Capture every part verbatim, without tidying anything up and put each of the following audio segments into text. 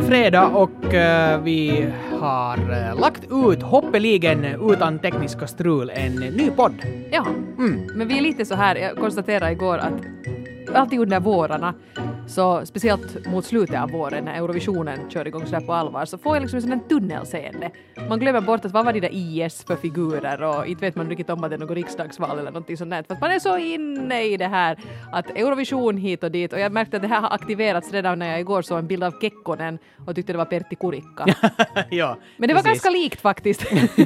fredag och uh, vi har uh, lagt ut hoppeligen utan tekniska strul en ny podd. Ja, mm. men vi är lite så här, jag konstaterade igår att alltid under vårarna, så speciellt mot slutet av våren när Eurovisionen kör igång så där på allvar, så får jag liksom en sån här tunnelseende. Man glömmer bort att vad var det där I S för figurer och inte vet man riktigt om att det är något riksdagsval eller någonting sånt där. För att man är så inne i det här att Eurovision hit och dit, och jag märkte att det här har aktiverats redan när jag igår såg en bild av Kekkonen och tyckte det var Pertti Kurikka. Ja, men det var precis. Ganska likt faktiskt.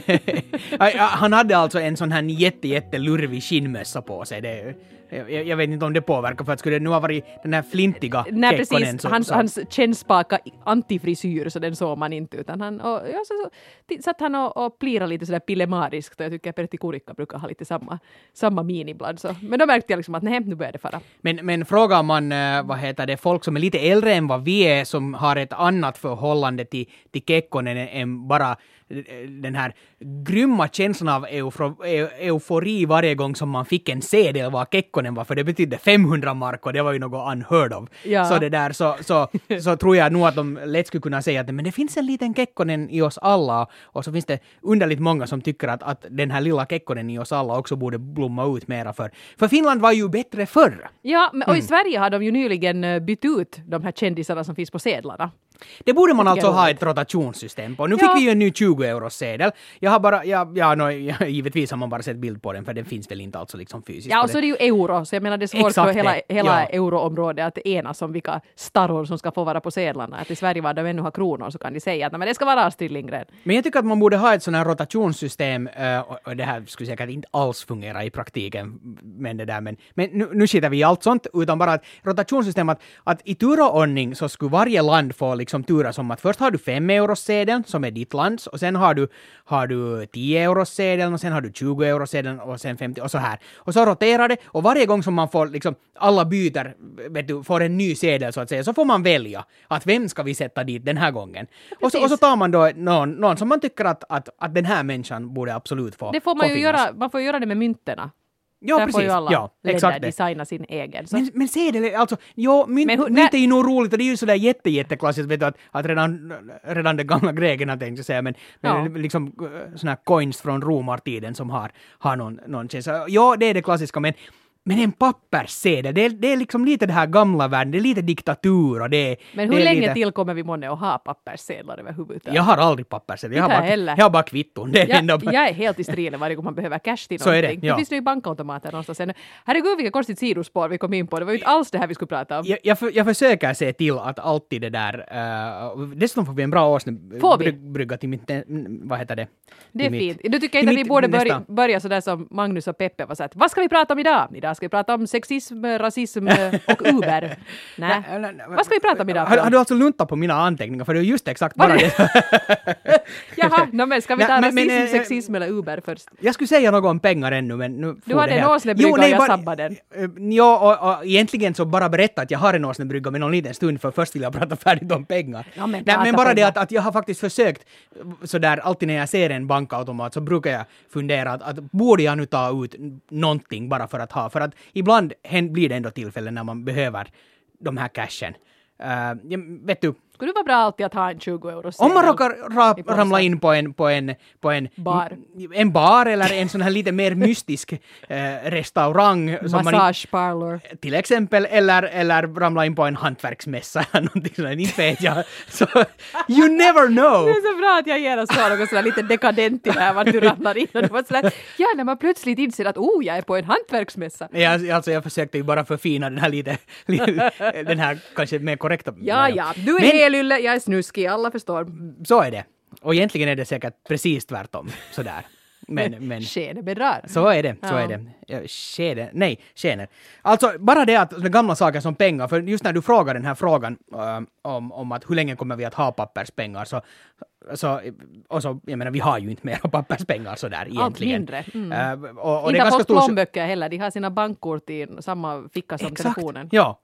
Han hade alltså en sån här jätte, jätte lurvig skinnmössa på sig. Det, jag, jag vet inte om det påverkar, för att skulle det nu ha varit den här flintiga Nej, Kekkonen. precis. Så, hans, så. hans kännspaka antifrisyr, så den såg man inte, utan han, och, ja, så, så, satt han och, och plirade lite sådär pillemariskt, och jag tycker att Pertti Kurikka brukar ha lite samma, samma min ibland. Så. Men då märkte jag liksom att nej, nu börjar det fara. Men, men frågar man, vad heter det, folk som är lite äldre än vad vi är, som har ett annat förhållande till, till Kekkonen än bara den här grymma känslan av eufro, eu, eufori varje gång som man fick en sedel vad Kekkonen var, för det betydde femhundra mark och det var ju något unheard of. Ja. Så det där, så, så, så tror jag nog att de lätt skulle kunna säga att men det finns en liten Kekkonen i oss alla, och så finns det underligt många som tycker att, att den här lilla Kekkonen i oss alla också borde blomma ut mera för. För Finland var ju bättre förr. Ja, men, och i Mm. Sverige har de ju nyligen bytt ut de här kändisarna som finns på sedlarna. Det borde man alltså jag ha roligt. ett rotationssystem på. Nu Ja. fick vi ju en ny tjugo euros sedel. Jag har bara, ja, ja, no, ja, givetvis har man bara sett bild på den, för den finns väl inte alltså liksom fysiskt. Ja, och så är det ju euro, så jag menar det är svårt Exakt för hela, det, hela ja. euroområdet att enas om vilka starror som ska få vara på sedlarna. Att i Sverige var de ännu har kronor, så kan de säga att men det ska vara Astrid Lindgren. Men jag tycker att man borde ha ett sånt här rotationssystem, uh, och, och det här skulle säkert inte alls fungera i praktiken, men det där, men, men nu, nu skiter vi i allt sånt, utan bara ett rotationssystem att, att i tur och ordning så skulle varje land få liksom tura som att först har du fem euros sedeln som är ditt lands, och sen har du, har du tio euros sedeln, och sen har du tjugo euros sedeln, och sen femtio, och så här. Och så roterar det, och varje gång som man får liksom, alla byter, vet du, får en ny sedel så att säga, så får man välja att vem ska vi sätta dit den här gången. Och så, och så tar man då någon, någon som man tycker att, att, att den här människan borde absolut få. Det får man få ju finnas. göra, man får göra det med mynterna. Ja, där precis. får ju alla Ja, exakt det. designa sin egen. Så. Men, men sedel, alltså, jo, mynt, Men hur- mynt är ju nog roligt, och det är ju sådär jätte, jätteklassiskt, vet du, att, att redan, redan de gamla grekerna tänkte jag säga, men, Ja. men liksom såna här coins från romartiden som har, har någon, någon känsla. Ja, det är det klassiska, men Men en papperssedel, det är, det är liksom lite det här gamla världen, det är lite diktatur och det är... Men hur det är länge lite... till kommer vi månne att ha papperssedlar överhuvudtaget? Jag har aldrig papperssedel, jag har Inte bara, heller. jag har bara kvitton. Det är Jag, ändå... jag är helt i strilen varje gång man behöver cash till Så är det, någonting. ja. Det finns ju bankautomater någonstans. Sen. Herregud, vilka konstigt sidospår vi kom in på. Det var ju inte alls det här vi skulle prata om. Jag, jag, för, jag försöker se till att alltid det där... Uh, dessutom får vi en bra årsne Får vi? bryg, brygga till mitt... Vad heter det? Det är Till fint. mitt- Du tycker till inte att vi mitt borde nästa- börja, börja sådär som Magnus och Peppe var så att vad ska vi prata om idag? Idag ska vi prata om sexism, rasism och Uber. Nej. Nej, nej, nej. Vad ska vi prata om idag? Har, har du alltså luntat på mina anteckningar? För det är just exakt Var bara det? det. Jaha, no, men ska vi ta Nej, men- rasism, men, eh, sexism eller Uber först? Jag skulle säga något om pengar ännu, men nu... Du får hade det en här. åsnebrygga Jo, och nej, jag bara- sabbade den. eh, Ja, och, och egentligen så bara berätta att jag har en åsnebrygga med någon liten stund, för först vill jag prata färdigt om pengar. Ja, men nej, prata men bara det pengar. att, att jag har faktiskt försökt, sådär, alltid när jag ser en bankautomat så brukar jag fundera att, att borde jag nu ta ut någonting bara för att ha, för att ibland hän- blir det ändå tillfällen när man behöver de här cashen. Uh, ja, vet du, Skulle det vara bra alltid att ha en tjugo euro om man råkar ra- i påsen. ramla in på en, på en, på en Bar. en bar eller en sån här lite mer mystisk eh, restaurang som man Massage parlor. inte, till exempel, eller, eller ramla in på en hantverksmässa eller någonting sådär, inte vet jag. Så, you never know! Det är så bra att jag genast sa något sådär lite dekadent i det här, vart du ramlar in och det var sådär, ja, när man plötsligt inser att oh, jag är på en hantverksmässa. Jag, alltså jag försökte ju bara förfina den här lite, lite den här kanske mer korrekta. Ja, ja, du är Men- helylle, jag är snuskig, alla förstår. Så är det. Och egentligen är det säkert precis tvärtom. Sådär. Men, men Skene bedrar. så är det, så Ja. är det. Ja, Skede, nej, skener. Alltså, bara det att de gamla saker som pengar, för just när du frågar den här frågan äh, om, om att hur länge kommer vi att ha papperspengar, så, så, och så, jag menar, vi har ju inte mer papperspengar sådär egentligen. mindre. Mm. Äh, och, och Inte det är har ganska fått stor... plånböcker heller, de har sina bankkort i samma ficka som Exakt. telefonen. Ja,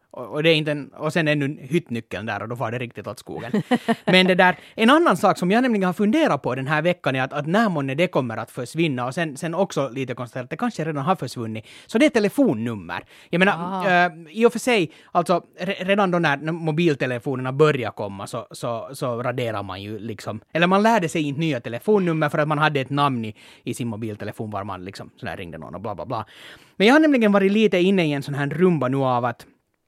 Och, och, det är inte en, och sen ännu hyttnyckeln där och då var det riktigt åt skogen. Men det där, en annan sak som jag nämligen har funderat på den här veckan är att, att när månne det kommer att försvinna och sen, sen också lite konstaterat att det kanske redan har försvunnit. Så det är telefonnummer. Jag menar, äh, i och för sig, alltså redan då när mobiltelefonerna börjar komma så, så, så raderar man ju liksom, eller man lärde sig inte nya telefonnummer för att man hade ett namn i, i sin mobiltelefon var man liksom sådär ringde någon och bla bla bla. Men jag har nämligen varit lite inne i en sån här rumba nu av att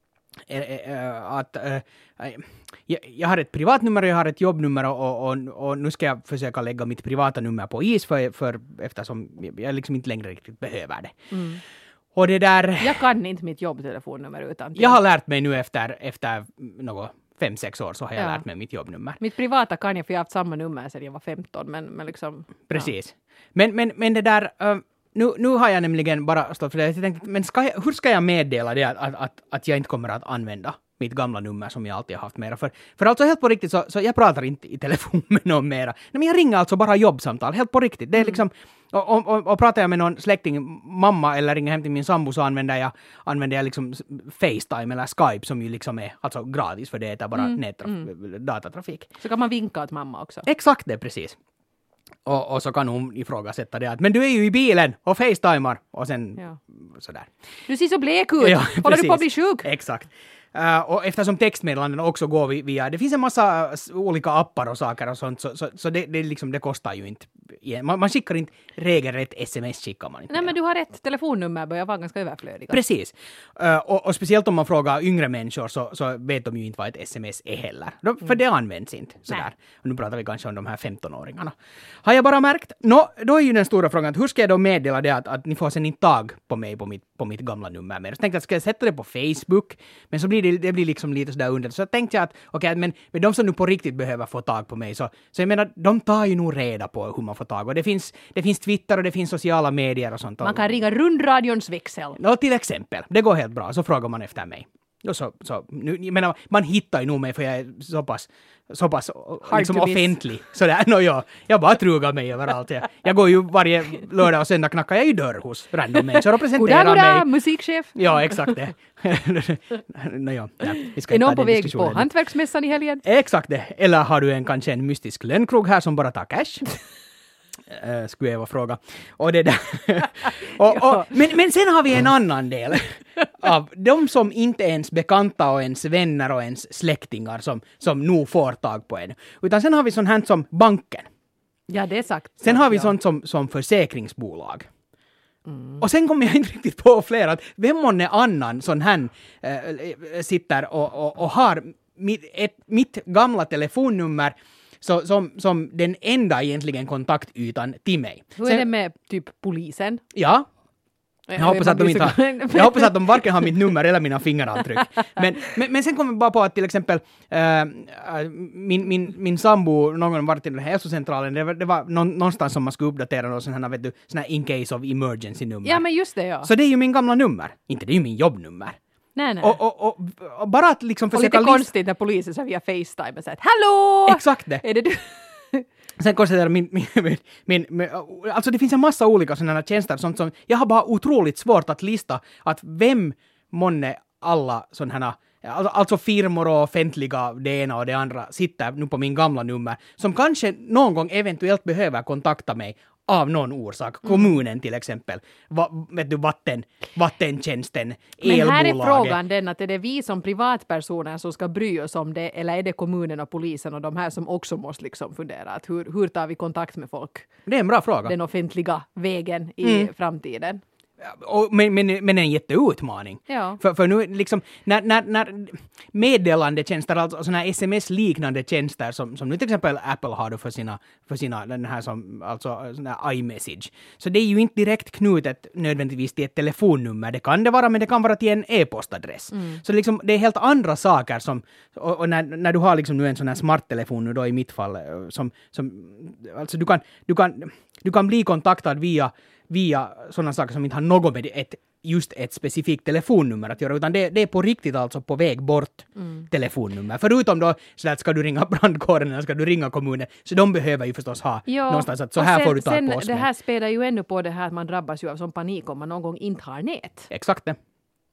att äh, jag, jag har ett privatnummer och jag har ett jobbnummer och, och, och nu ska jag försöka lägga mitt privata nummer på is för, för eftersom jag liksom inte längre riktigt behöver det. Mm. Och det där... Jag kan inte mitt jobbtelefonnummer utan till. Jag har lärt mig nu efter, efter något fem, sex år så har jag ja. lärt mig mitt jobbnummer. Mitt privata kan jag för jag har haft samma nummer sedan jag var femton men, men liksom... Precis. Ja. Men, men, men det där... Uh, Nu, nu har jag nämligen bara stått för det. Jag tänkte, men ska jag, hur ska jag meddela det att, att, att, att jag inte kommer att använda mitt gamla nummer som jag alltid har haft mera? För, för alltså helt på riktigt så, så jag pratar inte i telefon med någon mera. Nej, men jag ringer alltså bara jobbsamtal, helt på riktigt. Det är liksom, och, och, och, och pratar jag med någon släkting, mamma eller ringer hem till min sambo så använder jag, använder jag liksom FaceTime eller Skype som ju liksom är alltså gratis för det är bara mm. nättraf- mm. datatrafik. Så kan man vinka åt mamma också. Exakt det, precis. Och, och så kan hon ifrågasätta det att men du är ju i bilen och facetimar och sen ja. sådär. Du ser så blek ut. Ja, håller du på att bli sjuk? Exakt. Uh, och eftersom textmeddelanden också går via, det finns en massa olika appar och saker och sånt så, så, så det, det, liksom, det kostar ju inte. Man, man skickar inte regelrätt sms skickar man inte. Nej, men du har rätt telefonnummer börjar vara ganska överflödiga. Precis. Uh, och, och speciellt om man frågar yngre människor så, så vet de ju inte vad ett sms är heller. De, för mm. det används inte. Sådär. Och nu pratar vi kanske om de här femton-åringarna. Har jag bara märkt? Nå, då är ju den stora frågan att hur ska jag då meddela det att, att ni får sen inte tag på mig på mitt, på mitt gamla nummer mer. Så tänkte jag att ska jag sätta det på Facebook men så blir det, det blir liksom lite sådär under. Så tänkte jag att okej, okay, men, men de som nu på riktigt behöver få tag på mig så, så jag menar, de tar ju nog reda på hur man får tag. Och det finns, det finns Twitter och det finns sociala medier och sånt. Man kan ringa rundradions växel. Ja, till exempel. Det går helt bra. Så frågar man efter mig. Och så, så, nu, jag menar, man hittar ju nog mig för jag är så pass, så pass liksom offentlig. Sådär, no, ja, jag bara trugar mig överallt. Jag, jag går ju varje lördag och söndag knackar jag i dörr hos random människor och presenterar goddag, goddag, mig. musikchef. Ja, exakt det. no, ja, ja, vi ska är någon på väg på hantverksmässan i helgen? Exakt det. Eller har du en, kanske en mystisk lönnkrog här som bara tar cash? Uh, skulle jag vara fråga. Och det där. och, och, men, men sen har vi en annan del av de som inte är ens bekanta och ens vänner och ens släktingar som, som nog får tag på en. Utan sen har vi sånt här som banken. Ja, det är sagt. Sen har vi ja. sånt som, som försäkringsbolag. Mm. Och sen kommer jag inte riktigt på fler att vem månne annan sån här äh, sitter och, och, och har mitt, ett, mitt gamla telefonnummer Så, som, som den enda egentligen kontaktytan till mig. Hur är Sen, det med typ polisen? Ja. Jag, jag, hoppas, att de inte har, jag hoppas att de varken har mitt nummer eller mina fingeravtryck. Men, men, men sen kommer vi bara på att till exempel äh, min, min, min sambo någon gång var till den här hälsocentralen. Det var, det var någon, någonstans som man skulle uppdatera någon sån här, vet du, sån här in case of emergency nummer. Ja, men just det, ja. Så det är ju min gamla nummer. Inte det är ju min jobbnummer. Nej, nej. Och, och, och, och bara att liksom och försöka... Och lite konstigt när polisen så via FaceTime och säger hallå! Exakt det. Är det du? Sen konstaterar min, min, min, min, min... Alltså det finns en massa olika sådana tjänster sånt som... Jag har bara otroligt svårt att lista att vem månne alla sådana här... Alltså firmor och offentliga det ena och det andra sitter nu på min gamla nummer som kanske någon gång eventuellt behöver kontakta mig av någon orsak. Kommunen till exempel. Va, vet du, vatten, vattentjänsten, elbolaget. Men här är frågan den att är det vi som privatpersoner som ska bry oss om det eller är det kommunen och polisen och de här som också måste liksom fundera att hur, hur tar vi kontakt med folk? Det är en bra fråga. Den offentliga vägen i mm. framtiden. Och, men, men, men en jätteutmaning. Ja. För, för nu liksom, när, när, när meddelandetjänster, alltså sådana här sms-liknande tjänster som, som nu till exempel Apple har för sina, för sina den här som, alltså sån här iMessage. Så det är ju inte direkt knutet nödvändigtvis till ett telefonnummer. Det kan det vara, men det kan vara till en e-postadress. Mm. Så liksom, det är helt andra saker som, och, och när, när du har liksom nu en sån här smarttelefon nu då i mitt fall, som, som alltså du kan, du kan, du kan bli kontaktad via via sådana saker som inte har något med ett, just ett specifikt telefonnummer att göra, utan det, det är på riktigt alltså på väg bort mm. telefonnummer. Förutom då, så att ska du ringa brandkåren eller ska du ringa kommunen, så de behöver ju förstås ha ja. någonstans att så här sen, får du ta sen, på oss. Det här spelar ju ännu på det här att man drabbas ju av sån panik om man någon gång inte har nät. Exakt det.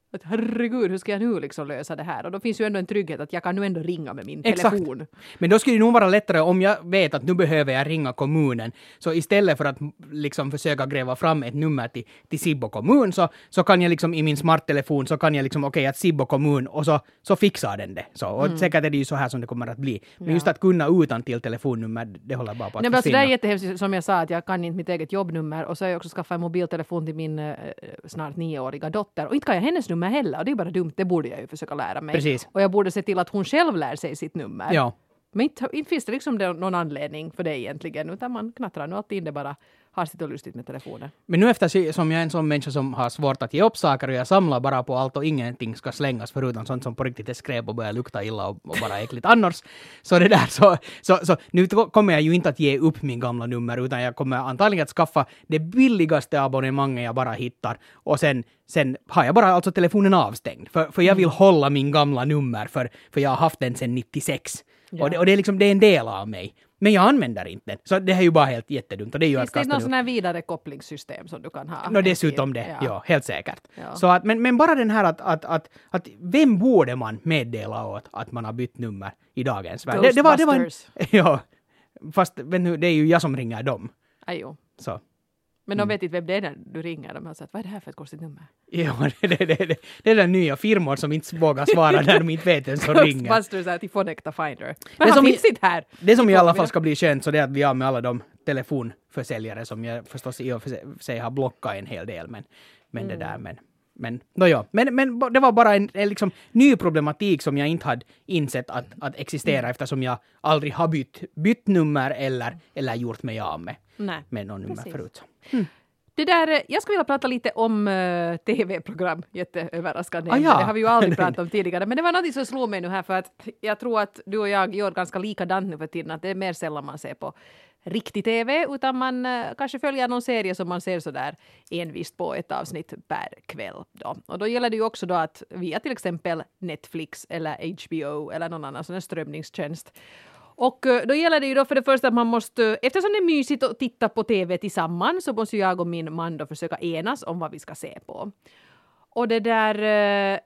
Att herregud, hur ska jag nu liksom lösa det här? Och då finns ju ändå en trygghet att jag kan nu ändå ringa med min Exakt. telefon. Men då skulle det nog vara lättare om jag vet att nu behöver jag ringa kommunen. Så istället för att liksom försöka gräva fram ett nummer till, till Sibbo kommun så, så kan jag liksom i min smarttelefon så kan jag liksom okej okay, att Sibbo kommun och så, så fixar den det. Så, och mm. säkert är det ju så här som det kommer att bli. Men ja. just att kunna utan till telefonnummer, det håller bara på att Nej, men alltså, försvinna. det är jättehemskt som jag sa att jag kan inte mitt eget jobbnummer och så har jag också skaffat en mobiltelefon till min eh, snart nioåriga dotter och inte kan jag hennes nummer heller och det är bara dumt, det borde jag ju försöka lära mig. Precis. Och jag borde se till att hon själv lär sig sitt nummer. Ja. Men inte, inte finns det liksom det, någon anledning för det egentligen utan man knattrar nu alltid in det bara har sitt och lustigt med telefonen. Men nu eftersom jag är en sån människa som har svårt att ge upp saker och jag samlar bara på allt och ingenting ska slängas förutom sånt som på riktigt är skräp och börjar lukta illa och, och bara äckligt annars. Så det där så, så, så nu kommer jag ju inte att ge upp min gamla nummer utan jag kommer antagligen att skaffa det billigaste abonnemanget jag bara hittar och sen, sen har jag bara alltså telefonen avstängd för, för jag vill hålla min gamla nummer för, för jag har haft den sedan nittiosex. Ja. Och, det, och det är liksom det är en del av mig. Men jag använder inte den. Så det är ju bara helt jättedumt. Och det är ju finns att det någon sån här vidare kopplingssystem som du kan ha? No, dessutom det, ja. ja, helt säkert. Ja. Så att, men, men bara den här att, att, att, att vem borde man meddela åt att man har bytt nummer i dagens värld? Det, det var, det var en, ja, fast men nu, det är ju jag som ringer dem. Ajo. Så. Men de vet inte vem det är när du ringer. De har sagt, vad är det här för ett konstigt nummer? Ja, det, det, det, det, det är den nya firmor som inte vågar svara när de inte vet vem som ringer. Ghostbusters är till Phonecta Finder. Men han finns inte här. Det som i alla fall ska bli skönt så det är att vi har med alla de telefonförsäljare som jag förstås i och för sig har blockat en hel del. Men, men mm. det där, men... Men, no, ja. men, men det var bara en, en liksom, ny problematik som jag inte hade insett att, att existera mm. eftersom jag aldrig har bytt, bytt nummer eller, eller gjort mig av med, med någon nummer Precis. förut. Mm. Det där, jag skulle vilja prata lite om uh, tv-program, jätteöverraskande. Ah, ja. Det har vi ju aldrig pratat om tidigare. Men det var något som slog mig nu här för att jag tror att du och jag gör ganska likadant nu för tiden. Att det är mer sällan man ser på riktig tv utan man uh, kanske följer någon serie som man ser sådär envist på ett avsnitt per kväll. Då. Och då gäller det ju också då att via till exempel Netflix eller H B O eller någon annan sån här strömningstjänst. Och då gäller det ju då för det första att man måste, eftersom det är mysigt att titta på tv tillsammans så måste jag och min man då försöka enas om vad vi ska se på. Och det där, eh,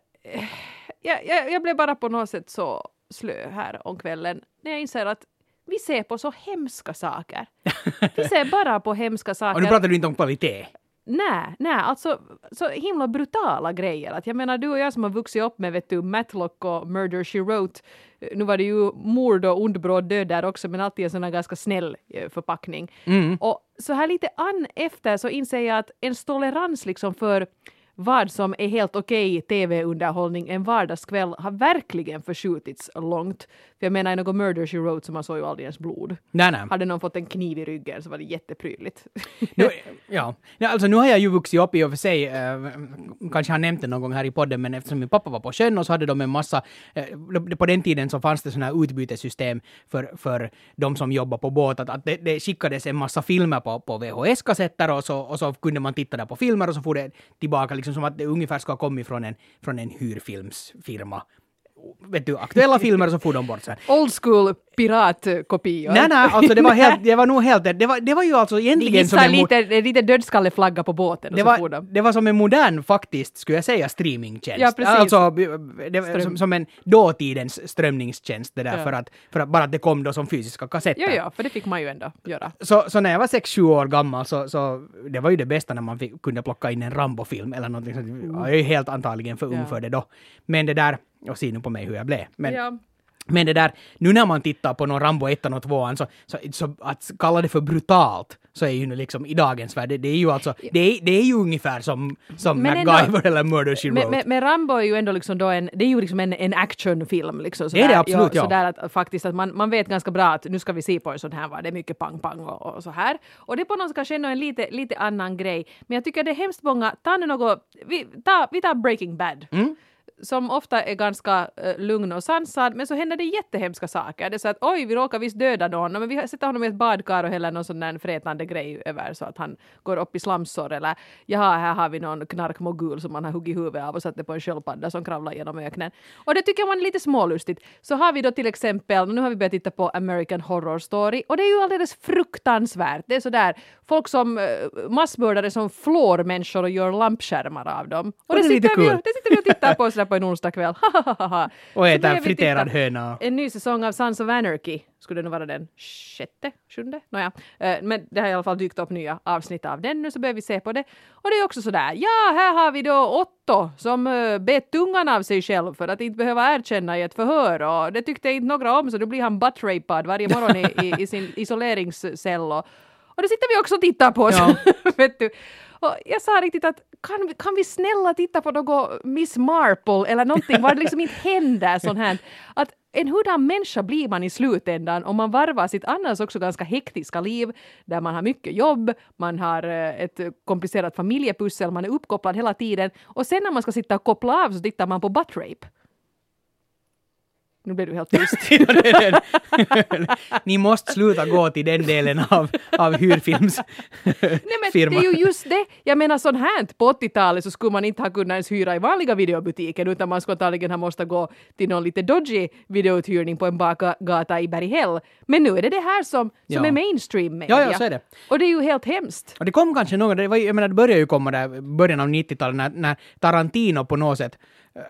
jag, jag, jag blev bara på något sätt så slö här om kvällen när jag inser att vi ser på så hemska saker. Vi ser bara på hemska saker. Och nu pratar du inte om kvalitet. Nej, nej, alltså så himla brutala grejer. Att jag menar, du och jag som har vuxit upp med vet du, Matlock och Murder, She Wrote. Nu var det ju mord och ondbråd död där också, men alltid en sån här ganska snäll förpackning. Mm. Och så här lite an efter så inser jag att en tolerans liksom för vad som är helt okej tv-underhållning en vardagskväll har verkligen förskjutits långt. För jag menar, i någon Murder, She Wrote så man såg ju aldrig ens blod. Nej, nej. Hade någon fått en kniv i ryggen så var det jätteprydligt. nu, ja, alltså nu har jag ju vuxit upp i och för sig, eh, kanske har nämnt det någon gång här i podden, men eftersom min pappa var på sjön och så hade de en massa, eh, på den tiden så fanns det sådana här utbytessystem för, för de som jobbar på båt, att, att det, det skickades en massa filmer på, på V H S-kassetter och så, och så kunde man titta där på filmer och så får det tillbaka liksom som att det ungefär ska ha kommit från en, från en hyrfilmsfirma. Vet du, aktuella filmer så får de bort sen. Old school piratkopior. Nej, nej, alltså det var helt, det var nog helt, det var, det var ju alltså egentligen som en... lite, lite dödskalleflagga på båten. Det och så var, får de. det var som en modern, faktiskt, skulle jag säga, streamingtjänst. Ja, precis. Alltså, det, som, som en dåtidens strömningstjänst, det där, ja. för, att, för att bara att det kom då som fysiska kassetter. Ja, ja, för det fick man ju ändå göra. Så, så när jag var sex sju år gammal så, så det var ju det bästa när man fick, kunde plocka in en Rambo-film eller någonting sånt. Mm. Jag är ju helt antagligen för ung ja. för det då. Men det där, och se nu på mig hur jag blev. Men, ja. men det där, nu när man tittar på någon Rambo ett och två så, så, så att kalla det för brutalt så är ju nu liksom i dagens värld, det, det är ju alltså, det är, det är ju ungefär som, som MacGyver ändå, eller Murder, She Wrote. Men, men Rambo är ju ändå liksom då en, det är ju liksom en, en actionfilm liksom. Det är det absolut, ja. Sådär att faktiskt att man, man vet ganska bra att nu ska vi se på en sån här, va? Det är mycket pang-pang och, och så här. Och det är på något sätt kanske ändå en lite, lite annan grej. Men jag tycker det är hemskt många, ta nu något, vi, ta, vi tar Breaking Bad. Mm. som ofta är ganska uh, lugn och sansad, men så händer det jättehemska saker. Det är så att oj, vi råkar visst döda någon, men vi sätter honom i ett badkar och häller någon sån där frätande grej över så att han går upp i slamsår, eller jaha, här har vi någon knarkmogul som man har huggit huvudet av och satt det på en sköldpadda som kravlar genom öknen. Och det tycker man är lite smålustigt. Så har vi då till exempel, nu har vi börjat titta på American Horror Story, och det är ju alldeles fruktansvärt. Det är så där, folk som uh, massmördare som flår människor och gör lampskärmar av dem. Och, och det, det, sitter lite vi, cool. det sitter vi och tittar på sådär på en onsdag kväll. Och äta friterad höna. En ny säsong av Sons of Anarchy. Skulle det nu vara den sjätte, sjunde? Nåja. Uh, men det har i alla fall dykt upp nya avsnitt av den nu, så börjar vi se på det. Och det är också sådär, ja, här har vi då Otto som uh, bet tungan av sig själv för att inte behöva erkänna i ett förhör. Och det tyckte inte några om, så då blir han buttrapad varje morgon i, i, i sin isoleringscell. Och, och det sitter vi också och tittar på. Ja. Vet du. Och jag sa riktigt att kan vi, kan vi snälla titta på något Miss Marple eller någonting var det liksom inte händer sånt här. Att en hurdan människa blir man i slutändan om man varvar sitt annars också ganska hektiska liv där man har mycket jobb, man har ett komplicerat familjepussel, man är uppkopplad hela tiden och sen när man ska sitta och koppla av så tittar man på butt rape. Nu blir du helt tyst. Ni måste sluta gå till den delen av, av hyrfilms Nej, men firma. Det är ju just det. Jag menar sån här på åttiotalet så skulle man inte ha kunnat ens hyra i vanliga videobutiken utan man skulle antagligen ha måste gå till någon lite dodgy videouthyrning på en bakgata i Berghäll. Men nu är det det här som, som ja. är mainstream media. Ja, ja, så är det. Och det är ju helt hemskt. Och det kom kanske någon, det var, jag menar det började ju komma där början av nittiotalet när, när Tarantino på något sätt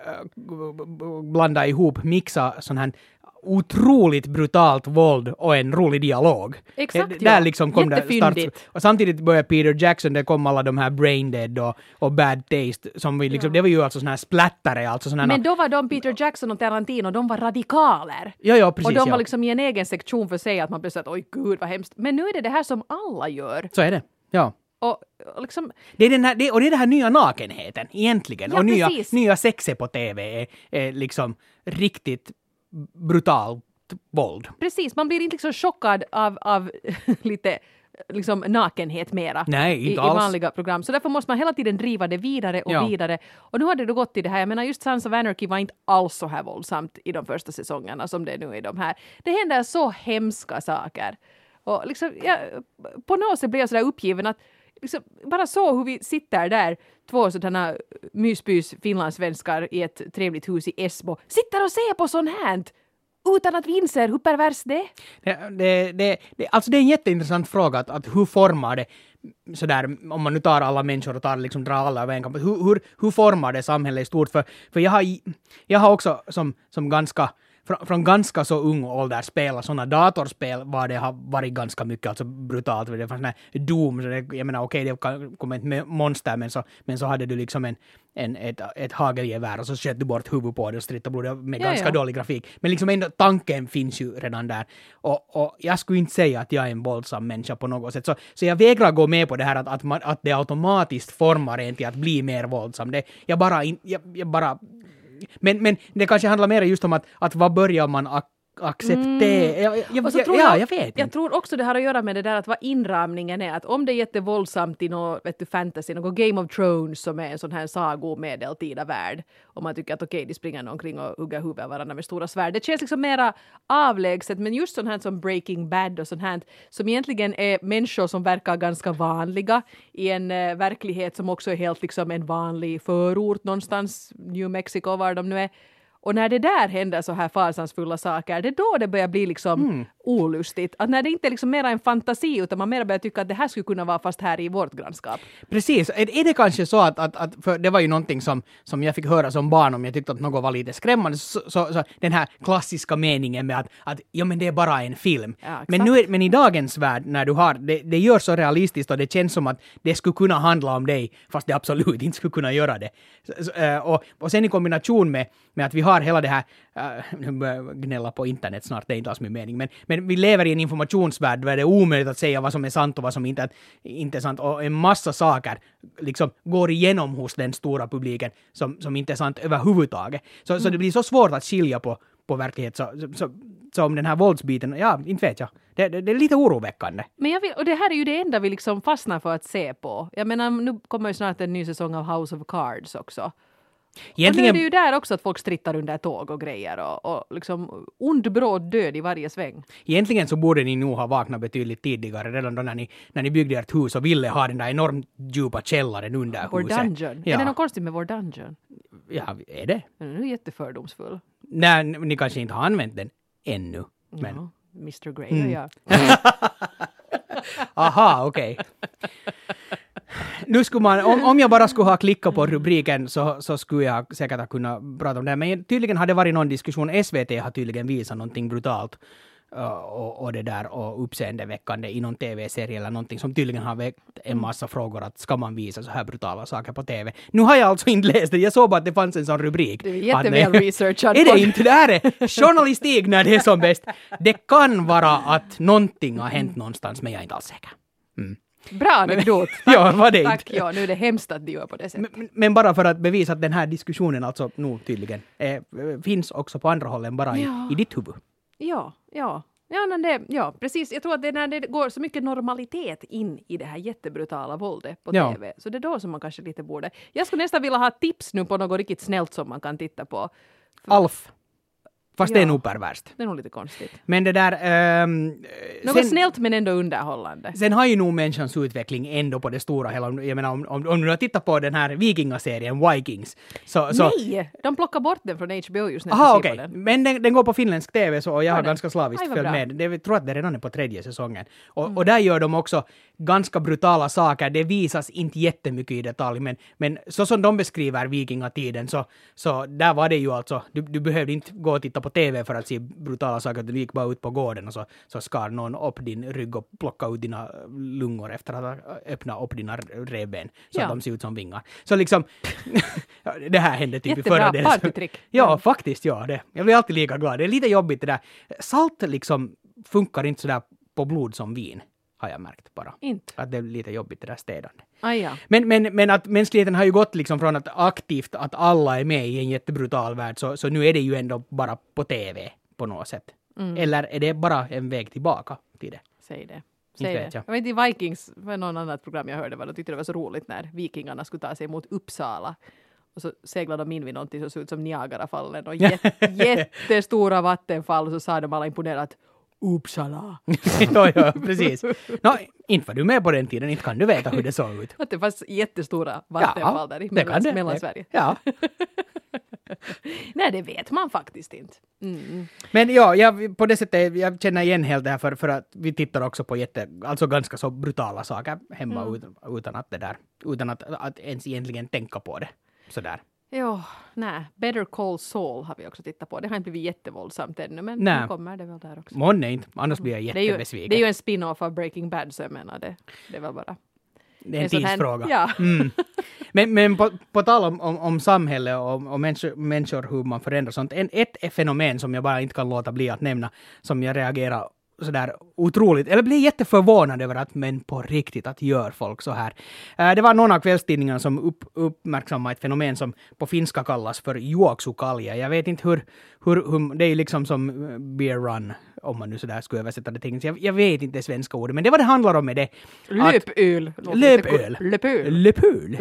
blanda ihop, mixa sån här otroligt brutalt våld och en rolig dialog. Exakt, det, där ja. liksom kom det start. Och samtidigt började Peter Jackson, det kom alla de här Brain Dead och, och Bad Taste som vi liksom, ja. Det var ju alltså sån här splattare alltså sån här. Men då var de Peter Jackson och Tarantino, de var radikaler. Ja, ja, precis. Och de var ja. liksom i en egen sektion för sig att man blev så att oj gud vad hemskt. Men nu är det det här som alla gör. Så är det, ja. Och, och, liksom, det är den här, det, och det är den här nya nakenheten egentligen. Ja, och nya, nya sexet på tv är, är liksom riktigt brutalt våld. Precis, man blir inte liksom chockad av, av lite liksom nakenhet mera. Nej, inte i, alls. i vanliga program. Så därför måste man hela tiden driva det vidare och ja. vidare. Och nu har det då gått till det här. Jag menar just Sons of Anarchy var inte alls så här våldsamt i de första säsongerna som det är nu i de här. Det händer så hemska saker. Och liksom, jag, på något sätt blir jag sådär uppgiven att liksom, bara så hur vi sitter där, två sådana mysbys finlandssvenskar i ett trevligt hus i Esbo, sitter och ser på sånt här utan att vi inser hur pervers det är. Det, det, det, det, alltså det är en jätteintressant fråga att, att hur formar det sådär, om man nu tar alla människor och tar liksom drar alla över en kamp, hur, hur, hur formar det samhället i stort? För, för jag, har, jag har också som, som ganska Från, från ganska så ung ålder spela sådana datorspel var det har varit ganska mycket alltså brutalt. Det fanns sån här Doom, så det, jag menar okej okay, det kom ett monster men så, men så hade du liksom en, en, ett, ett hagelgevär och så sköt du bort huvudet på det och stritt och blod med ja, ganska ja. dålig grafik. Men liksom ändå tanken finns ju redan där. Och, och jag skulle inte säga att jag är en våldsam människa på något sätt. Så, så jag vägrar gå med på det här att, att, man, att det automatiskt formar en till att bli mer våldsam. Det, jag bara... Jag, jag bara Men, men det kanske handlar mer just om att, att vad börjar man ak- acceptera? Mm. Jag, jag, jag, jag, ja, jag vet Jag inte. tror också det har att göra med det där att vad inramningen är. Att om det är jättevåldsamt i något vet du, fantasy, något Game of Thrones som är en sån här sagomedeltida värld. Och man tycker att okej, okay, de springer omkring och hugger huvudet varandra med stora svärd. Det känns liksom mera avlägset. Men just sånt här som Breaking Bad och sånt här som egentligen är människor som verkar ganska vanliga i en uh, verklighet som också är helt liksom en vanlig förort någonstans, New Mexico var de nu är. Och när det där händer så här fasansfulla saker, det är då det börjar bli liksom mm. olustigt. Att när det inte är liksom mera en fantasi utan man mer börjar tycka att det här skulle kunna vara fast här i vårt grannskap. Precis. Är, är det kanske så att, att, att för det var ju någonting som, som jag fick höra som barn om jag tyckte att något var lite skrämmande. Så, så, så den här klassiska meningen med att, att ja men det är bara en film. Ja, men, nu är, men i dagens värld när du har, det, det gör så realistiskt och det känns som att det skulle kunna handla om dig fast det absolut inte skulle kunna göra det. Så, så, och, och sen i kombination med, med att vi har hela det här, uh, gnälla på internet snart, det är inte alls min mening, men, men vi lever i en informationsvärld där det är omöjligt att säga vad som är sant och vad som inte, inte är sant, och en massa saker liksom går igenom hos den stora publiken som, som inte är sant överhuvudtaget. Så, mm. så det blir så svårt att skilja på, på verklighet, så, så, så om den här våldsbiten, ja, inte vet jag. Det, det, det är lite oroväckande. Men jag vill, och det här är ju det enda vi liksom fastnar för att se på. Jag menar, nu kommer ju snart en ny säsong av House of Cards också. Egentligen... Och nu är det ju där också att folk strittar under tåg och grejer och, och liksom ond bråd död i varje sväng. Egentligen så borde ni nog ha vaknat betydligt tidigare, redan då när ni, när ni byggde ert hus och ville ha den där enormt djupa källaren under Vår huset. dungeon. Ja. Är det något konstigt med vår dungeon? Ja, är det? Den är nu jättefördomsfull. Nej, ni kanske inte har använt den ännu. Men... Ja, mister Grey Mm. och jag. Aha, okej. Okay. Nu skulle man, om, om jag bara skulle ha klickat på rubriken så, så skulle jag säkert ha kunnat prata om det. Men tydligen har det varit någon diskussion. S V T har tydligen visat någonting brutalt uh, och, och det där och uppseendeväckande i någon tv-serie eller någonting som tydligen har väckt en massa frågor att ska man visa så här brutala saker på tv. Nu har jag alltså inte läst det. Jag såg bara att det fanns en sån rubrik. Det är jätteväl researchat. Är det inte? Det här är journalistik när det är som bäst. Det kan vara att någonting har hänt någonstans, men jag är inte alls säker. Mm. Bra anekdot. Tack, Ja, var det tack inte. ja, nu är det hemskt att du gör på det sättet. Men, men bara för att bevisa att den här diskussionen alltså nu tydligen eh, finns också på andra håll än bara i, Ja. i ditt huvud. Ja, ja. Ja, men det, ja, precis. Jag tror att det är när det går så mycket normalitet in i det här jättebrutala våldet på Ja. tv. Så det är då som man kanske lite borde... Jag skulle nästan vilja ha tips nu på något riktigt snällt som man kan titta på. Alf. Fast Ja. det är nog perverst. Det är nog lite konstigt. Men det där... ehm, Något sen, snällt men ändå underhållande. sen har ju nog människans utveckling ändå på det stora hela. Jag menar, om, om, om du har tittat på den här vikingaserien Vikings. Så, så, Nej! De plockar bort den från H B O just när Aha, jag okej. ser på den. Men den, den går på finländsk tv så och jag Gör har den? ganska slaviskt Aj, vad följt bra. med. Det, jag tror att det redan är på tredje säsongen. Och, och där gör de också ganska brutala saker. Det visas inte jättemycket i detalj, men, men så som de beskriver vikingatiden så, så där var det ju alltså, du, du behövde inte gå och titta på tv för att se brutala saker. Du gick bara ut på gården och så, så skar någon upp din rygg och plockade ut dina lungor efter att ha öppnat upp dina revben så Ja. att de ser ut som vingar. Så liksom, det här hände typ i Jättebra förra delen. partytrick. Ja, Mm. faktiskt, ja. Det. Jag blir alltid lika glad. Det är lite jobbigt det där. Salt liksom funkar inte sådär på blod som vin, har jag märkt bara. Inte. Att det är lite jobbigt det där städande. Aj ja. Men, men, men att mänskligheten har ju gått liksom från att aktivt att alla är med i en jättebrutal värld, så, så nu är det ju ändå bara på tv på något sätt. Mm. Eller är det bara en väg tillbaka till det? Säg det. Inte Säg vet det. jag. Jag vet inte, Vikings var någon annat program jag hörde, var de tyckte det var så roligt när vikingarna skulle ta sig mot Uppsala. Och så seglade de in vid någonting som såg ut som Niagarafallen och jätte, jättestora vattenfall, och så sa de alla imponerat Uppsala. ja, ja, precis. Nå, inte var du med på den tiden, inte kan du veta hur det såg ut. Att det fanns jättestora vattenfall där i det mellan, kan det. mellan Sverige. Ja. Nej, det vet man faktiskt inte. Mm. Men ja, jag, på det sättet, jag känner igen helt det här för, för att vi tittar också på jätte, alltså ganska så brutala saker hemma Mm. utan, utan att det där, utan att, att ens egentligen tänka på det. Sådär. Ja, nej. Better Call Saul har vi också tittat på. Det har inte blivit jättevåldsamt ännu, men Nej. nu kommer det väl där också. Månne inte, annars blir jag Det är, ju, jättebesviken. det är ju en spin-off av Breaking Bad, så jag menar det. Det är väl bara... Det är en en sån här- tidsfråga. ja. Mm. Men, men på, på tal om, om, om samhälle och, och människor, människor, hur man förändrar sånt. En, ett fenomen som jag bara inte kan låta bli att nämna, som jag reagerar sådär otroligt, eller blir jätteförvånad över att, men på riktigt, att gör folk så här. Eh, det var någon av kvällstidningarna som upp, uppmärksammade ett fenomen som på finska kallas för juoksukalja. Jag vet inte hur, hur, hur, det är ju liksom som eh, beer run, om man nu sådär skulle översätta det till. Jag, jag vet inte det svenska ordet, men det vad det handlar om är det. att- Löpöl. Löpöl. Löpöl. Löpöl.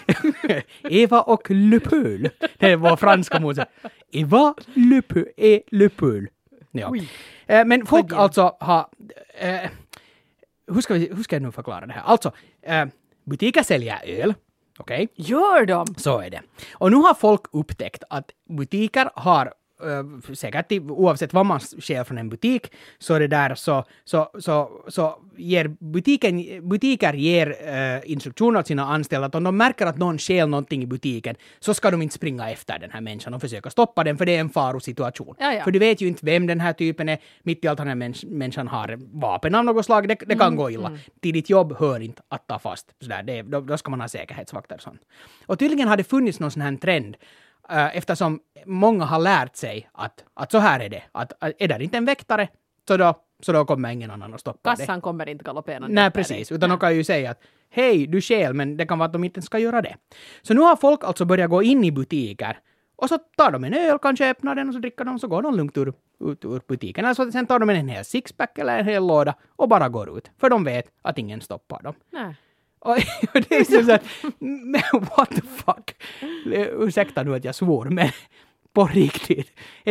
Eva och Löpöl. Det var franska musen. Eva Löpöl är Löpöl. Ja. Oj. Eh, Men folk Oj. alltså har... Eh, hur, ska vi, hur ska jag nu förklara det här? Alltså, eh, butiker säljer öl. Okej? Gör de? Så är det. Och nu har folk upptäckt att butiker har Uh, säkert i- oavsett vad man sker från en butik så är det där så, så, så, så ger butiken, butiker ger uh, instruktioner åt sina anställda att om de märker att någon stjäl någonting i butiken så ska de inte springa efter den här människan och försöka stoppa den, för det är en farosituation. Ja, ja. För du vet ju inte vem den här typen är. Mitt i allt den här mäns- människan har vapen av något slag. Det, det kan gå illa. Till ditt jobb hör inte att ta fast. Sådär, det, då, då ska man ha säkerhetsvakter och sånt. Och tydligen har det funnits någon sån här trend Uh, eftersom många har lärt sig att, att så här är det. Att, att är det inte en väktare så då, så då kommer ingen annan att stoppa det. Kassan kommer inte galopperande. Nej, efter precis. dig. Utan de kan ju säga att hej, du stjäl, men det kan vara att de inte ska göra det. Så nu har folk alltså börjat gå in i butiker och så tar de en öl, kanske öppnar den och så dricker de, så går de lugnt ur, ut ur butiken. Alltså sen tar de en hel sixpack eller en hel låda och bara går ut. För de vet att ingen stoppar dem. Nej. Och det är så att, men what the fuck? ursäkta nu att jag svor, men på riktigt. Det,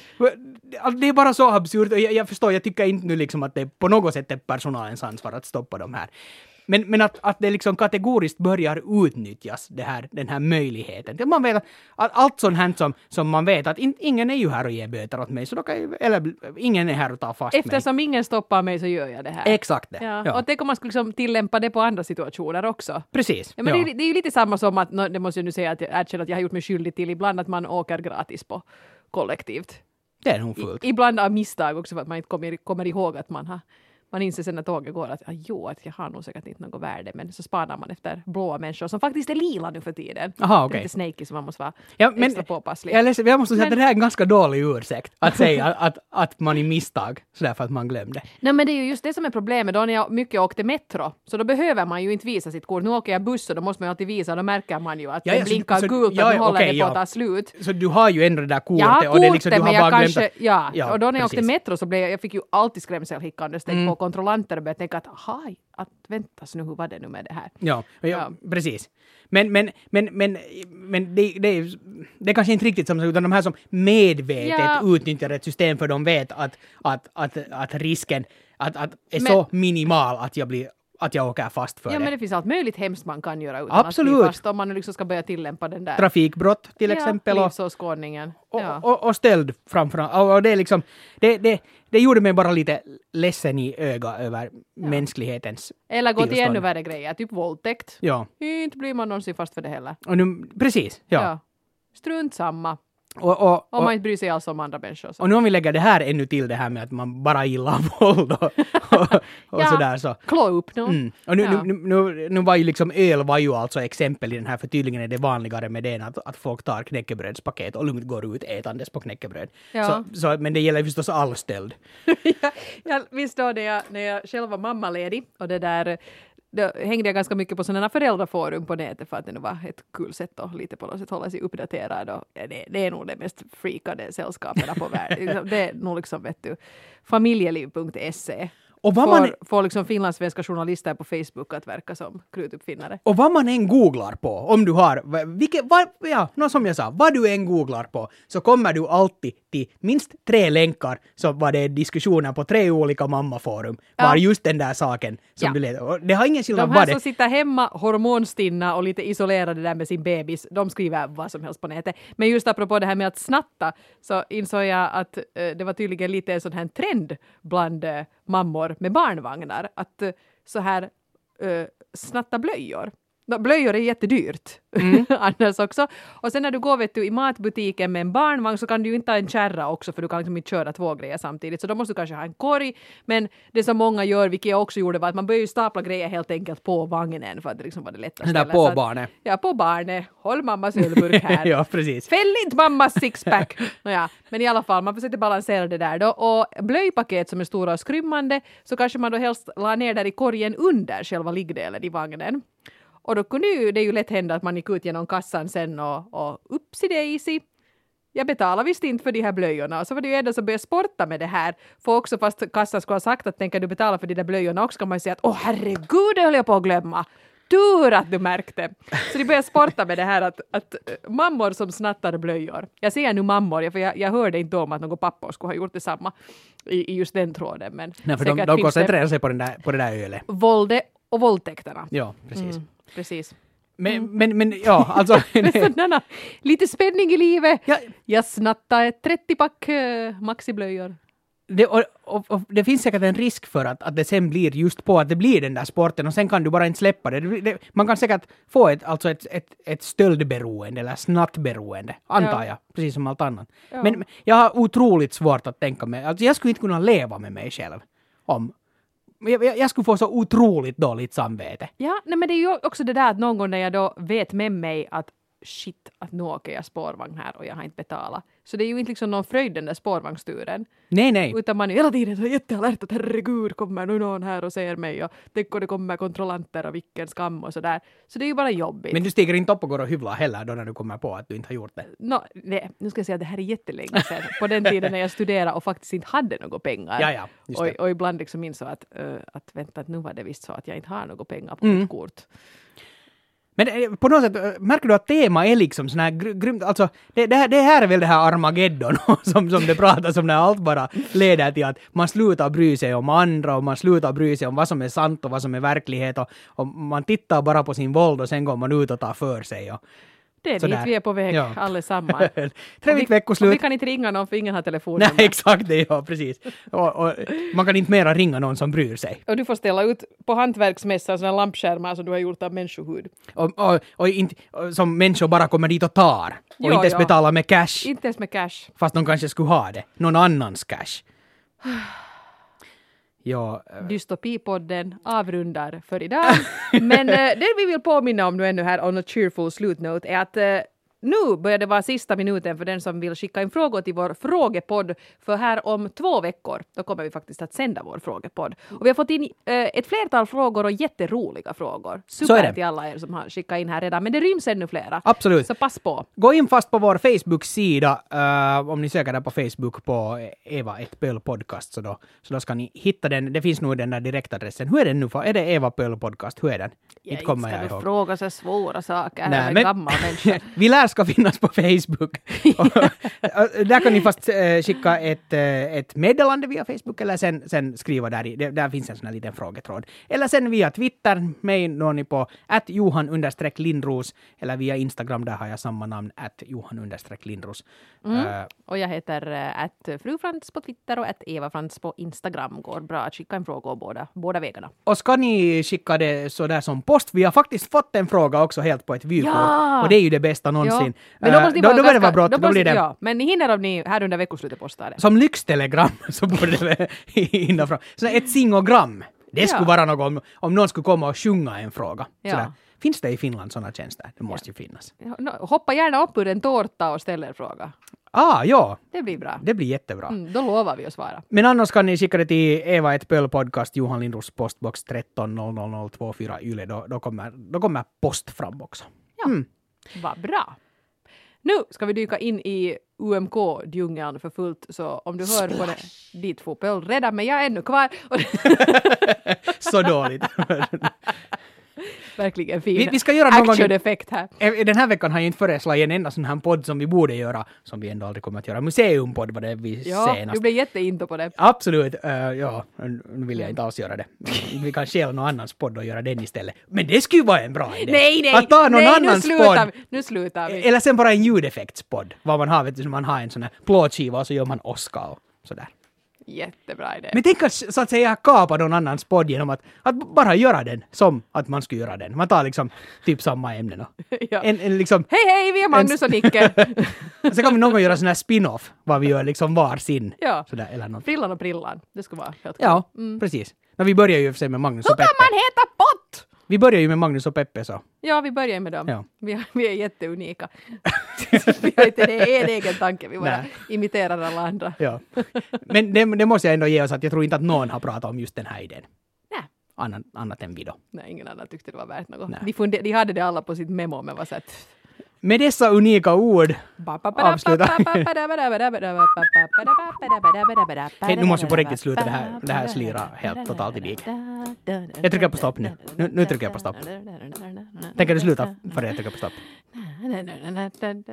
det är bara så absurt. Jag, jag förstår, jag tycker inte nu liksom att det på något sätt är personalens ansvar att stoppa de här. Men, men att, att det liksom kategoriskt börjar utnyttjas, det här, den här möjligheten. Man vet att, att allt sånt här som, som man vet att in, ingen är ju här och ger böter åt mig, så då kan jag, eller ingen är här och tar fast mig. Eftersom ingen stoppar mig så gör jag det här. Exakt det. Ja. Ja. Och tänk om man skulle liksom tillämpa det på andra situationer också. Precis. Ja, men ja. det, det är ju lite samma som att, det måste jag nu säga att jag erkänner att jag har gjort mig skyldig till ibland att man åker gratis på kollektivt. Det är nog fullt. I, ibland av misstag också för att man inte kommer, kommer ihåg att man har man inser sen när tåget går att ah, jo, att jag har nog säkert inte något värde, men så spanar man efter blåa människor som faktiskt är lila nu för tiden. Aha, okay. Det är okay. lite snaky så man måste vara ja, men, extra påpasslig. Jag, läser, jag måste säga men, att det här är en ganska dålig ursäkt att säga att, att, att man i misstag, sådär för att man glömde. Nej, men det är ju just det som är problemet. Då när jag mycket åkte metro, så då behöver man ju inte visa sitt kort. Nu åker jag buss och då måste man ju alltid visa, då märker man ju att ja, ja, det blinkar så, gult så, ja, att nu håller okay, det på ja. att ta slut. Så du har ju ändå det där kortet. Jag har kortet, och det är liksom, du har men jag bara kanske, glömt att, ja. ja, och då när jag precis. åkte metro så blev jag, jag fick ju alltid skrämselhickan steg mm. på kontrollanter och började tänka att aha, att väntas nu, hur var det nu med det här? Ja, ja, ja. precis. Men, men, men, men, men det, det, är, det är kanske inte riktigt som utan de här som medvetet ja. utnyttjar ett system för de vet att, att, att, att risken att, att är men, så minimal att jag blir att jag åker fast för ja, det. Ja, men det finns allt möjligt hemskt man kan göra utan Absolut. att bli fast om man liksom ska börja tillämpa den där. Trafikbrott till exempel. Ja, livsåskådningen. Och, ja. och, och stöld framförallt. Och, och det är liksom, det, det, det gjorde mig bara lite ledsen i öga över ja. mänsklighetens eller gå till tillstånd. ännu värre grejer, typ våldtäkt. Ja. Inte blir man någonsin fast för det heller. Och nu, precis, ja. ja. Strunt samma. Och, och, och, om man inte bryr sig alls om andra människor. Så. Och nu om vi lägger det här ännu till det här med att man bara gillar våld och, och, och ja, sådär så. klå upp nu. Mm. Och nu, ja. nu, nu, nu var ju liksom öl var ju alltså exempel i den här, för tydligen är det vanligare med det att, att folk tar knäckebrödspaket och lugnt går ut ätandes på knäckebröd. Ja. Så, så, men det gäller ju förstås all stöld. ja, ja, visst då när jag, när jag själv var mammaledig och det där då hängde jag ganska mycket på sådana föräldraforum på nätet för att det nu var ett kul sätt att lite på något sätt hålla sig uppdaterad och det, det är nog det mest freakade sällskaperna på världen. Det är nog liksom, vet du, familjeliv punkt se. Och vad får, man får liksom finlandssvenska journalister på Facebook att verka som krutuppfinnare. Och vad man än googlar på, om du har, vilket, vad, ja, något som jag sa, vad du än googlar på, så kommer du alltid till minst tre länkar som var det diskussioner på tre olika mammaforum, ja. var just den där saken som ja. du led. Och det har ingen skillnad. De här vad det. som sitter hemma hormonstinna och lite isolerade där med sin bebis, de skriver vad som helst på nätet. Men just apropå det här med att snatta, så insåg jag att eh, det var tydligen lite en sån här trend bland eh, mammor med barnvagnar att uh, så här uh, snatta blöjor. Blöjor är jättedyrt mm. annars också. Och sen när du går vet du, i matbutiken med en barnvagn så kan du ju inte ha en kärra också för du kan liksom inte köra två grejer samtidigt. Så då måste du kanske ha en korg. Men det som många gör, vilket jag också gjorde, var att man börjar ju stapla grejer helt enkelt på vagnen för att det liksom var det lättast. Det där på barnet. Ja, på barnet. Håll mammas ölburk här. ja, precis. Fäll inte mammas sixpack. Nåja, men i alla fall, man försöker balansera det där då. Och blöjpaket som är stora och skrymmande så kanske man då helst la ner där i korgen under själva liggdelen i vagnen. Och då kunde ju, det ju lätt hända att man gick ut genom kassan sen och, och upsi daisy. Jag betalar visst inte för de här blöjorna. Och så var det ju ändå som började sporta med det här. För också fast kassan skulle ha sagt att tänker du betala för de där blöjorna också kan man ju säga att åh herregud, det höll jag på att glömma. Tur att du märkte. Så de började sporta med det här att, att mammor som snattar blöjor. Jag säger nu mammor, för jag, jag hörde inte om att någon pappa skulle ha gjort detsamma i, i just den tråden. Men nej, för de, de koncentrerar sig på, den där, på det där ölet. Våldet och våldtäkterna. Ja, precis. Mm. Precis. Men, mm. men, men ja, alltså... Sådana, lite spänning i livet. Ja. Jag snattade ett trettio-pack uh, maxiblöjor. Det, och, och, och det finns säkert en risk för att, att det sen blir just på att det blir den där sporten och sen kan du bara inte släppa det. det, det man kan säkert få ett, alltså ett, ett, ett stöldberoende eller snattberoende, antar ja. jag, precis som allt annat. Ja. Men jag har otroligt svårt att tänka mig, alltså jag skulle inte kunna leva med mig själv om... Jag, jag, jag skulle få så otroligt dåligt samvete. Ja, nej, men det är ju också det där att någon gång när jag då vet med mig att shit, att nu åker jag spårvagn här och jag har inte betalat. Så det är ju inte liksom någon fröjd den där spårvagnsturen. Nej, nej. Utan man är hela tiden så jättealert att herregud, kommer nu någon här och säger mig och tänk om det kommer kontrollanter och vilken skam och sådär. Så det är ju bara jobbigt. Men du stiger inte upp och går och hyvlar heller då när du kommer på att du inte har gjort det? No, nej, nu ska jag säga att det här är jättelänge sedan. På den tiden när jag studerade och faktiskt inte hade några pengar. Ja, ja, just det. Och, och ibland liksom insåg att, uh, att vänta, att nu var det visst så att jag inte har några pengar på mm. mitt kort. Men eh, på något sätt, eh, märker du att tema är liksom sån här gr- grymt, alltså det, det, här, det här är väl det här Armageddon som, som det pratas om när allt bara leder till att man slutar bry sig om andra och man slutar bry sig om vad som är sant och vad som är verklighet och, och man tittar bara på sin våld och sen går man ut och tar för sig. Och, Det är sådär. dit vi är på väg Ja. allesammans. Trevligt vi, veckoslut. och vi kan inte ringa någon för ingen har telefonnummer. Nej, exakt det, ja, precis. Och, och man kan inte mera ringa någon som bryr sig. Och du får ställa ut på hantverksmässan sådana lampskärmar som du har gjort av människohud. Och, och, och, inte, och som människor bara kommer dit och tar. Och Jo, inte ens ja. betalar med cash. Inte ens med cash. Fast de kanske skulle ha det. Någon annans cash. Ja, eh, Dystopipodden avrundar för idag. Men eh, det vi vill påminna om nu ännu här on a cheerful slutnote är att eh, nu börjar det vara sista minuten för den som vill skicka in frågor till vår frågepodd. För här om två veckor, då kommer vi faktiskt att sända vår frågepodd. Och vi har fått in eh, ett flertal frågor och jätteroliga frågor. Så är Super det. till alla er som har skickat in här redan. Men det ryms ännu flera. absolut. Så pass på. Gå in fast på vår Facebook-sida. Uh, om ni söker där på Facebook på Eva ett Pöl podcast så då, så då ska ni hitta den. Det finns nog den där direktadressen. Hur är den nu? Är det Eva Pöl podcast? Hur är den? Ja, inte kommer ska jag du ihåg. fråga så svåra saker. Nej, Nej, men- gammal människa. Vi lär ska finnas på Facebook. Och, och där kan ni fast eh, skicka ett, eh, ett meddelande via Facebook eller sen, sen skriva där i. Det, där finns en sån här liten frågetråd. Eller sen via Twitter. Mig når ni på att Johan understreck Lindros. Eller via Instagram, där har jag samma namn. att Johan understreck Lindros. Mm. Eh, Och jag heter äh, att frufrans på Twitter och att Eva Frans på Instagram. Går bra att skicka en fråga båda, båda vägarna. och ska ni skicka det så där som post? Vi har faktiskt fått en fråga också helt på ett vykort. Ja! Och det är ju det bästa någonsin. Men då Eh, måste ni då, vara då bör det ganska- vara brått. Då, måste- blir det Ja, men ni hinner om ni här under veckoslutet postar det. som lyxtelegram så borde det väl hinna fram. Så ett singogram. Det skulle Ja. vara något om, om någon skulle komma och sjunga en fråga. Ja. Sådär. Finns det i Finland sådana tjänster? Det måste ju finnas. Ja, no, hoppa gärna upp ur en tårta och ställ er fråga. Ah, ja. Det blir bra. Det blir jättebra. Mm, då lovar vi att svara. Men annars kan ni skicka det till Eva ett Pöl podcast, Johan Lindros postbox tretton noll noll noll två fyra Yle. Då, då, kommer, då kommer post fram också. Ja. Mm. Vad bra. Nu ska vi dyka in i U M K-djungeln för fullt. Så om du hör på det, dit får Pöl redan, men jag är ännu kvar. Och Så dåligt. verkligen fin Vi- vi ska göra någon gång- action-effekt här. Eh, Den här veckan har jag inte föreslagit en enda sån här podd som vi borde göra, som vi ändå aldrig kommer att göra. Museumpodd var det vi Ja, senast. du blev jätteinto på det. Absolut, uh, ja, nu vill jag inte alls göra det. Vi kan stjäla någon annans podd och göra den istället. Men det skulle ju vara en bra idé. Nej, nej, att ta någon nej, nu annans slutar podd. vi. Nu slutar vi. Eller sen bara en ljudeffektspodd. Vad man har, vet du, så man har en sån här plåtskiva och så gör man åska och sådär. Jättebra idé. Men tänk att så att säga kapa någon annans podd genom att, att bara göra den som att man skulle göra den. Man tar liksom typ samma ämnen och Ja. en, en liksom, Hej hej, vi är Magnus och Nicke. sen kan vi någon gång göra sån här spin-off, vad vi gör liksom var sin. Ja. Sådär, eller något. Frillan och Prillan. Det skulle vara helt Ja, Mm. precis. No, vi börjar ju för sig med Magnus Hur och kan Peppe. man heta pott? Vi börjar ju med Magnus och Peppe så. Ja, vi börjar med dem. Ja. Vi, är- vi är jätteunika. vi har inte det en egen tanke, vi bara Nej. imiterar alla andra. Ja. Men det, det måste jag ändå ge oss att jag tror inte att någon har pratat om just den här idén. Nej. Annat, annat än vi då. Nej, ingen annan tyckte det var värt något. Nej. De, funde, de hade det alla på sitt memo, men var så att... Med dessa unika ord avsluta. Hej, nu måste vi på riktigt sluta det här. Det här slirar helt totalt i diket. Jag trycker på stopp nu. Nu, nu trycker jag på stopp. Tänker du sluta före jag trycker på stopp?